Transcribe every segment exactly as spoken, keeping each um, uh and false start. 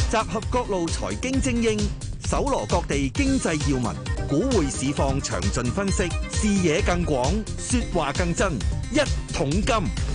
集合各路財經精英，搜羅各地經濟要聞，股匯市況詳盡分析，視野更廣，說話更真。一桶金。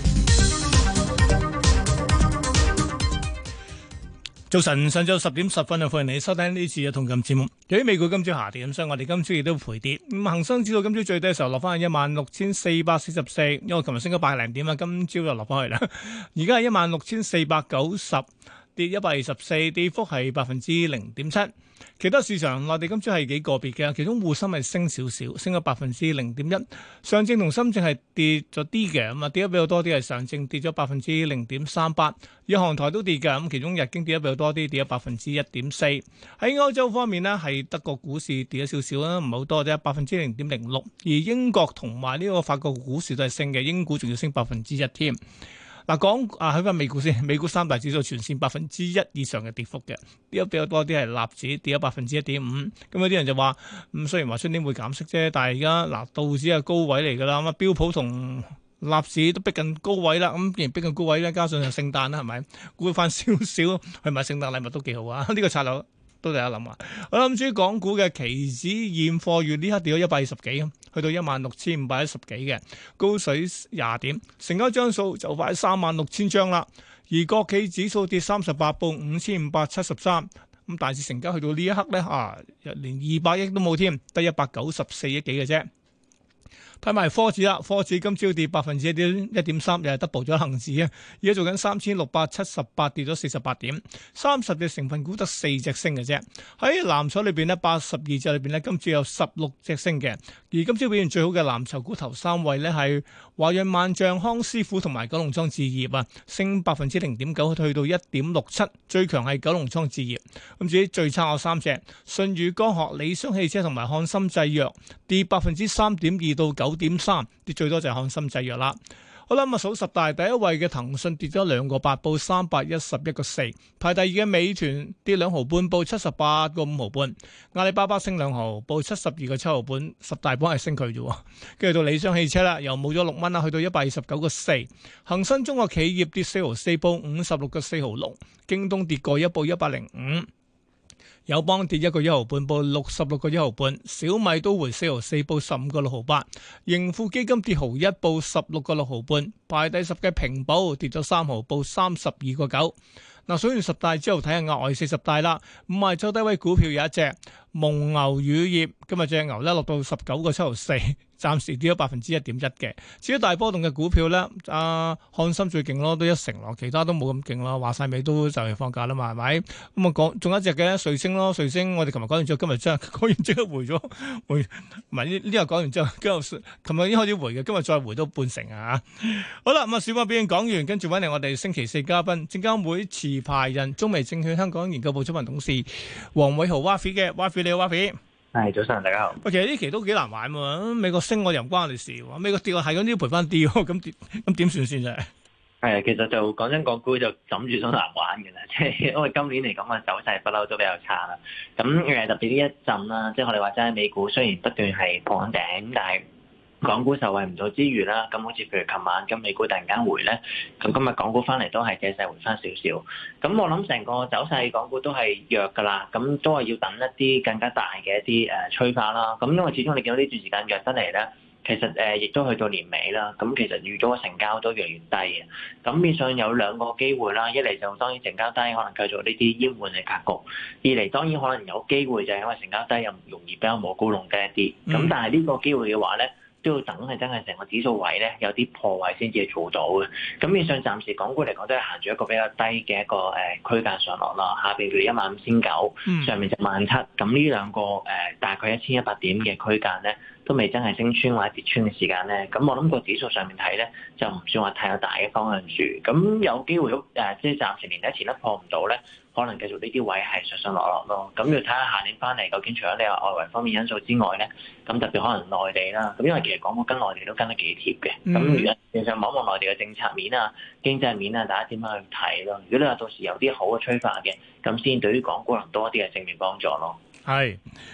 早晨，上晝十點十分啊，歡迎你收聽呢次嘅一桶金節目。由於美股今朝下跌，咁所以我哋今朝亦都賠跌。咁恒生指數今朝最低嘅時候落翻去一萬六千四百四十四，因為琴日升咗百零點啊，今朝就落翻去啦。而家係一萬六千四百九十，跌一百二十四，跌幅係百分之零點七。其他市場內地今朝係幾個別嘅，其中滬深係升少少，升咗百分之零點一。上證同深證係跌咗啲嘅，咁啊跌得比較多啲係上證跌咗百分之零點三八，日韓台都跌嘅，咁其中日經跌得比較多啲，跌咗百分之一點四。喺歐洲方面呢，係德國股市跌咗少少啦，唔係好多啫，百分之零點零六。而英國同埋呢個法國股市都係升嘅，英股仲要升百分之一添。嗱，講啊，喺翻美股先，美股三大指數全線百分之一以上嘅跌幅嘅，跌得比較多啲係納指跌咗百分之一點五。咁有啲人就話，咁雖然話出年會減息啫，但係而家嗱道指係高位嚟㗎啦，咁啊標普同納指都逼近高位啦。咁既然逼近高位咧，加上就聖誕啦，係咪？估翻少少去買聖誕禮物都幾好啊！呢個策略都大家諗下。我諗至於港股嘅期指現貨月呢刻跌咗一百二十幾，去到一萬六千五百一十幾嘅高水廿點，成交張數就快三萬六千張啦。而國企指數跌三十八，報五千五百七十三。咁大市成交去到呢一刻咧，啊，連二百億都冇添，得一百九十四億幾嘅啫。睇埋科指啦，科指今朝跌百分之一點一點三，又係 double 咗恒指啊！而家做緊三千六百七十八，跌咗四十八點，三十隻成分股得四隻升嘅啫。喺藍籌裏邊呢，八十二隻裏邊呢，今朝有十六隻升嘅。而今朝表現最好嘅藍籌股頭三位呢，係華潤萬象、康師傅同埋九龍倉置業啊，升百分之零點九，去到一點六七。最強係九龍倉置業。咁至於最差有三隻，舜宇光學、理想汽車同埋漢森製藥，跌百分之三點二到九點三，跌最多就係漢森製藥啦。好啦，咁啊數十大第一位嘅騰訊跌咗兩個八，報三百一十一個四。排第二嘅美團跌兩毫半，報七十八個五毫半。阿里巴巴升兩毫，報七十二個七毫半。十大榜係升佢啫。跟住到理想汽車啦，又冇咗六蚊啦，去到一百二十九個四。恒生中國企業跌四毫四，報五十六個四毫六。京東跌過一，報一百零五。友邦跌一個一毫半，報六十六個一毫半。小米都回四毫四，報十五個六毫八。盈富基金跌毫一，報十六個六毫半。排第十嘅平保跌咗三毫，報三十二個九。嗱，數完十大之後，睇下額外四十大啦。五十周低位股票有一隻蒙牛乳業，今日隻牛咧落到十九個七毫四，暫時跌咗百分之一點一嘅。至於大波動嘅股票咧，啊漢森最勁咯，都一成咯，其他都冇咁勁咯。話晒尾都就嚟放假啦嘛，係咪？咁啊講，仲有一隻嘅瑞星咯，瑞星我哋琴日講完之後，今日真係講完即刻回咗回，唔係呢呢個講完之後，跟住琴日已經開始回嘅，今日再回到半成啊！好啦，咁啊小馬表演講完，跟住揾嚟我哋星期四嘉賓，證監會持牌人中微證券香港研究部執行董事黃偉豪 Wafi 嘅 Wafi， 你好 Wafi。 係早晨，大家好。 喂，其實呢期都幾難玩喎，美國升我又唔關我哋事喎，美國跌我係咁都要賠翻啲喎，咁點咁點算先啫？ 係啊，其實就講真，港股就枕住都難玩嘅啦，即係因為今年嚟講嘅走勢不嬲都比較差啦。咁誒特別呢一陣啦，即係我哋話齋美股雖然不斷係破頂，但係港股受惠唔到之餘啦，咁好似譬如琴晚咁美股突然間回咧，咁今日港股翻嚟都係借勢回翻少少。咁我諗成個走勢港股都係弱噶啦，咁都係要等一啲更加大嘅一啲誒催化啦。咁因為始終你見到呢段時間弱得嚟咧，其實誒亦都去到年尾啦，咁其實預咗個成交都越嚟越低嘅。咁變相有兩個機會啦，一嚟就當然成交低，可能繼續呢啲淹悶嘅格局；二嚟當然可能有機會就係因為成交低又容易比較冇高弄低一啲。咁但係呢個機會嘅話咧，都要等係真係成個指數位咧有啲破位先至做到嘅。咁面上暫時港股嚟講都係行住一個比較低嘅一個誒區間上落啦，下邊譬如一萬五千九，上面就萬七。咁呢兩個誒大概一千一百點嘅區間咧，都未真係升穿或者跌穿嘅時間咧，咁我諗個指數上面睇咧就唔算話太有大嘅方向住。咁有機會誒，即係暫時年底前都破唔到咧，可能繼續呢啲位係上上落落咯。咁要睇下下年翻嚟究竟除咗你話外圍方面因素之外咧，咁特別可能內地啦。咁因為其實港股跟內地都跟得幾貼嘅。咁如果其實望一望內地嘅政策面啊、經濟面啊，大家點樣去睇咯？如果你話到時有啲好嘅催化嘅，咁先對於港股能多啲嘅正面幫助咯。 係。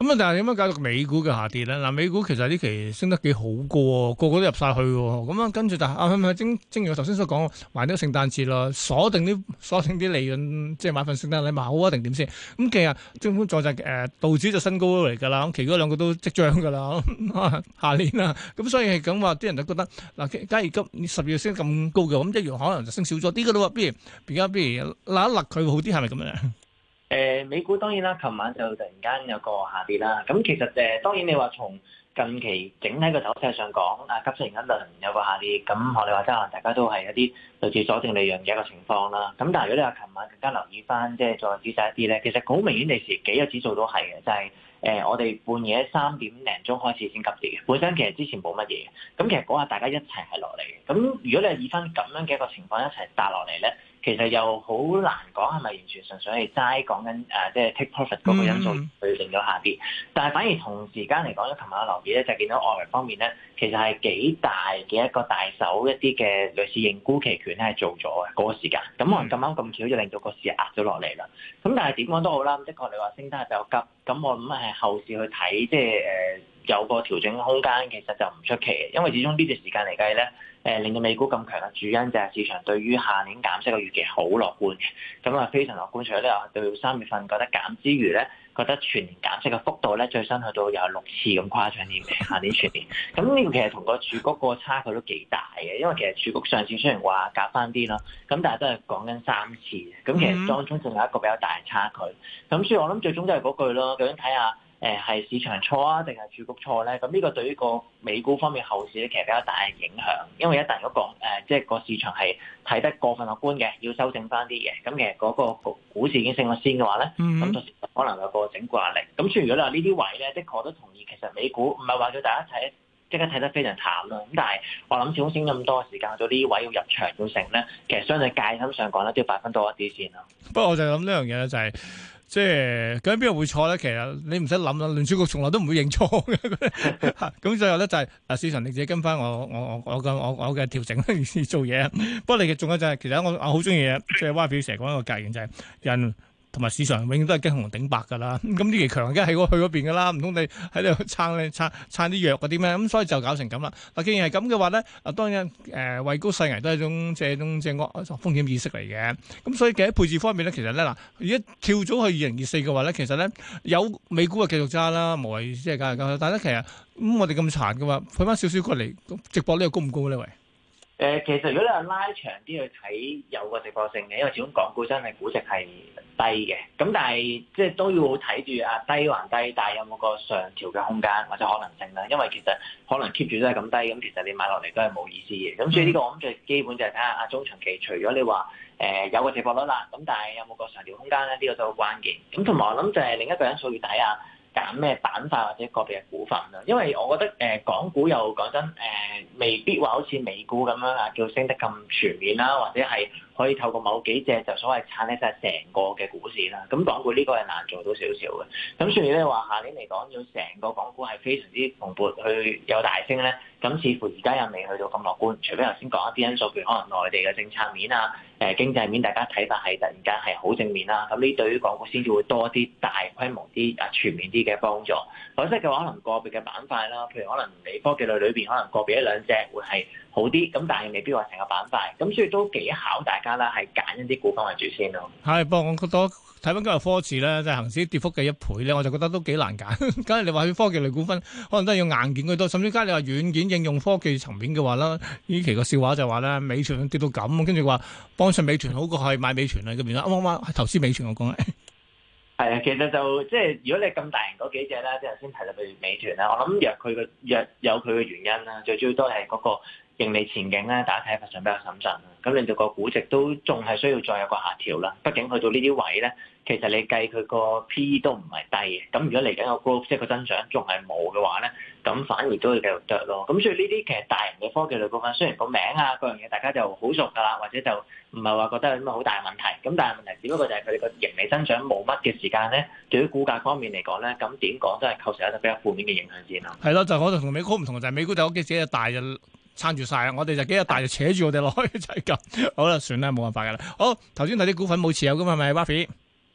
咁啊，但係點樣搞到美股嘅下跌咧？嗱，美股其實呢期升得幾好嘅喎，個個都入晒去喎。咁啊，跟住但係啊，係咪正正如我頭先所講，埋啲聖誕節啦，鎖定啲鎖定啲利潤，即係買份聖誕禮物好啊，定點先？咁其實政府再就誒道指就新高嚟㗎啦，咁其餘嗰兩個都即將㗎啦，下年啦。咁所以係咁話，啲人都覺得嗱，假如今十月升咁高嘅，咁一樣可能就升少咗啲㗎咯。不如而家不如勒一勒佢好啲，係咪咁樣？ 誒、呃、美股當然啦，琴晚就突然間有個下跌啦。咁其實誒、呃、當然你話從近期整體個走勢上講，啊急升一輪有個下跌，咁我哋話真係大家都係一啲類似鎖定利潤嘅一個情況啦。咁但係如果你話琴晚更加留意翻，即係再仔細一啲咧，其實好明顯地時幾個指數都係嘅，就係、是。誒、呃，我哋半夜三點零鐘開始先急跌嘅，本身其實之前冇乜嘢，咁其實嗰下大家一齊係落嚟嘅。咁如果你係以翻咁樣嘅一個情況一齊搭落嚟咧，其實又好難講係咪完全純粹係齋講緊誒，即係 take profit 嗰個因素去令到下跌。嗯、但係反而同時間嚟講咧，琴晚我留意咧就見到外圍方面咧，其實係幾大嘅一個大手一啲嘅類似認沽期權咧係做咗嘅嗰個時間。咁可能咁啱咁巧就令到個市壓咗落嚟啦。咁但係點講都好啦，的確你話升得係比較急。咁我諗係後市去睇，即係誒、呃、有個調整空間，其實就唔出奇嘅，因為始終呢段時間嚟計咧，誒、呃、令到美股咁強嘅主因就係市場對於下年減息嘅預期好樂觀嘅，咁啊非常樂觀。除咗你話對三月份覺得減之餘咧，覺得全年減息嘅幅度咧最新去到有六次咁誇張添嘅，下年全年。咁呢個其實同個儲局個差距都幾大嘅，因為其實儲局上次雖然話減翻啲啦，咁但係都係講緊三次嘅，咁其實當中仲有一個比較大嘅差距。咁所以我諗最終都係嗰句咯，究竟睇下誒係市場錯啊，定係儲局錯咧？咁呢個對於個美股方面後市咧，其實比較大嘅影響，因為一旦嗰個誒即係個市場係睇得過分樂觀嘅，要修正翻啲嘅，咁其實嗰個股市已經升咗先嘅話咧，咁到時可能有個整固壓力。咁所以如果你話呢啲位咧，的確都同意，其實美股唔係話叫大家睇即刻睇得非常淡啦。咁但係我諗始終升咁多時間，到呢啲位要入場要成咧，其實相對戒心上講咧，都要擺翻多一啲先咯。 不過我就諗呢樣嘢咧，就係、是。即係究竟邊個會錯咧？其實你唔使諗啦，聯儲局從來都唔會認錯嘅。咁最後咧就係啊，市場你自己跟翻我我我我嘅我我嘅調整去做嘢。不過你嘅仲有就係、是、其實我我好中意嘅，即係蛙表成日講一個格言就係、是、人同埋市場永遠都係驚紅頂白㗎啦。咁呢期強梗係喺去嗰邊㗎啦，唔通你喺度撐你撐撐啲弱嗰啲咩？咁所以就搞成咁啦。嗱，既然係咁嘅話咧，啊當然誒位高勢危都係一種即係一種即係惡風險意識嚟嘅。咁所以嘅喺配置方面咧，其實咧嗱，而家跳咗去二零二四嘅話咧，其實咧有美股啊繼續揸啦，無謂即係搞嚟搞去。但係咧其實咁、嗯、我哋咁殘嘅話，退翻少少過嚟直播呢個高唔高咧？喂？ 誒，其實如果你話拉長啲去睇，有個直播性嘅，因為始終港股真係估值係低嘅。咁但係即係都要睇住啊，低還低，但係有冇個上調嘅空間或者可能性咧？因為其實可能 keep 住都係咁低，咁其實你買落嚟都係冇意思嘅。咁所以呢個我諗最基本就係睇下啊中長期，除咗你話誒、呃、有個直播率啦，咁但係有冇個上調空間咧？呢、這個都好關鍵。咁同埋我諗就係另一個因素要睇下。揀咩板塊或者個別嘅股份啦，因為我覺得誒、呃、港股又講真誒、呃，未必話好似美股咁樣啊，叫升得咁全面啦，或者係可以透過某幾隻就所謂撐起晒成個嘅股市啦。咁港股呢個係難做到少少嘅。咁所以咧話下年嚟講，要成個港股係非常之蓬勃去有大升咧，咁似乎而家又未去到咁樂觀。除非頭先講一啲因素，譬如可能內地嘅政策面啊、誒、呃、經濟面，大家睇法係突然間係好正面啦。咁呢對於港股先至會多啲大規模啲啊全面啲嘅幫助。否則嘅話，可能個別嘅板塊啦，譬如可能你科技類裏邊可能個別一兩隻會係好啲，咁但係未必話成個板塊。咁所以都幾考大家啦，係揀一啲股份為主先咯。 係，不過我覺得睇翻今日科指咧，即係恆指跌幅嘅一倍咧，我就覺得都幾難揀。假如你話去科技類股份，可能都係要硬件居多，甚至加你話軟件應用科技層面嘅話啦，呢期個笑話就話咧，美團跌到咁，跟住話幫襯美團好過係買美團啊咁樣啦。啱啱啱係投資美團我講係。 係啊，其實就即係如果你咁大型嗰幾隻咧，即係頭先提到譬如美團啦，我諗若佢嘅若有佢嘅原因啦，最主要都係嗰個盈利前景咧，大家睇法上比較審慎啦，咁令到個估值都仲係需要再有個下調啦。畢竟去到呢啲位咧，其實你計佢個 P E 都唔係低嘅。咁如果嚟緊個 growth 即係個增長仲係冇嘅話咧，咁反而都會繼續得咯。咁所以呢啲其實大型嘅科技類股份，雖然個名啊嗰樣嘢大家就好熟㗎啦，或者就唔係話覺得有啲乜好大問題。咁但係問題只不過就係佢哋個盈利增長冇乜嘅時間咧，對於股價方面嚟講咧，咁點講都係構成一個比較負面嘅影響先咯。 係咯，就我就同美股唔同，就係、是、美股就屋企自己大就撐住晒，我哋就幾日大就扯住我哋落去就係咁。好啦，算啦，冇辦法㗎啦。好，頭先睇啲股份冇持有㗎嘛，係咪 Buffy？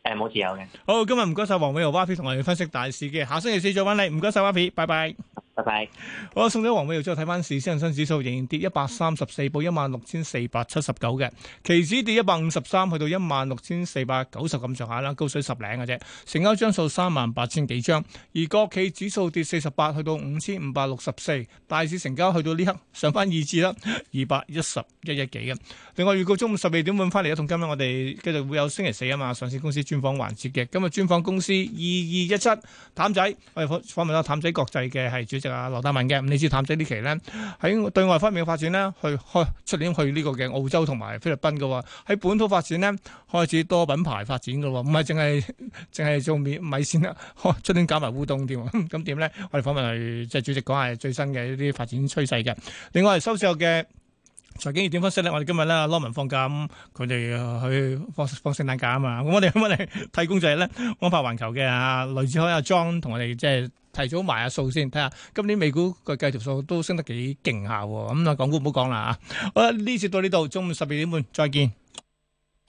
誒冇持有嘅。 好，今日唔該晒黃偉豪 Y P 同我哋分析大市嘅，下星期四再揾你，唔該晒 Y P，拜拜。 拜拜。 好啦，送咗黃偉豪之後，睇翻市，恒生指數仍然跌一百三十四，報一萬六千四百七十九嘅，期指跌一百五十三，去到一萬六千四百九十咁上下啦，高水十零嘅啫。成交張數三萬八千幾張，而國企指數跌四十八，去到五千五百六十四，大市成交去到呢刻上翻二字啦，二百一十一億幾嘅。另外預告中午十二點半翻嚟一同今日我哋繼續會有星期四啊嘛，上市公司專訪環節嘅，今日專訪公司二二一七譚仔，我哋訪訪問咗譚仔國際嘅係主席。啊，羅達文嘅，咁你知譚仔呢期咧喺對外方面嘅發展咧，去開出年去呢個嘅澳洲同埋菲律賓嘅喎，喺本土發展咧開始多品牌發展嘅喎，唔係淨係淨係做米米線啦，出年搞埋烏冬添，咁點咧？我哋訪問係即係主席講下最新嘅一啲發展趨勢嘅。另外係收市後嘅財經熱點分析咧，我哋今日咧羅文放假，咁佢哋去放放聖誕假啊嘛，咁我哋咁我哋替工就係咧安柏環球嘅啊雷志海阿 John 同我哋即係。提早埋下數先，睇下今年美股個計條數都升得幾勁下喎，咁啊港股唔好講啦啊！好啦，呢次到呢度，中午十二點半再見。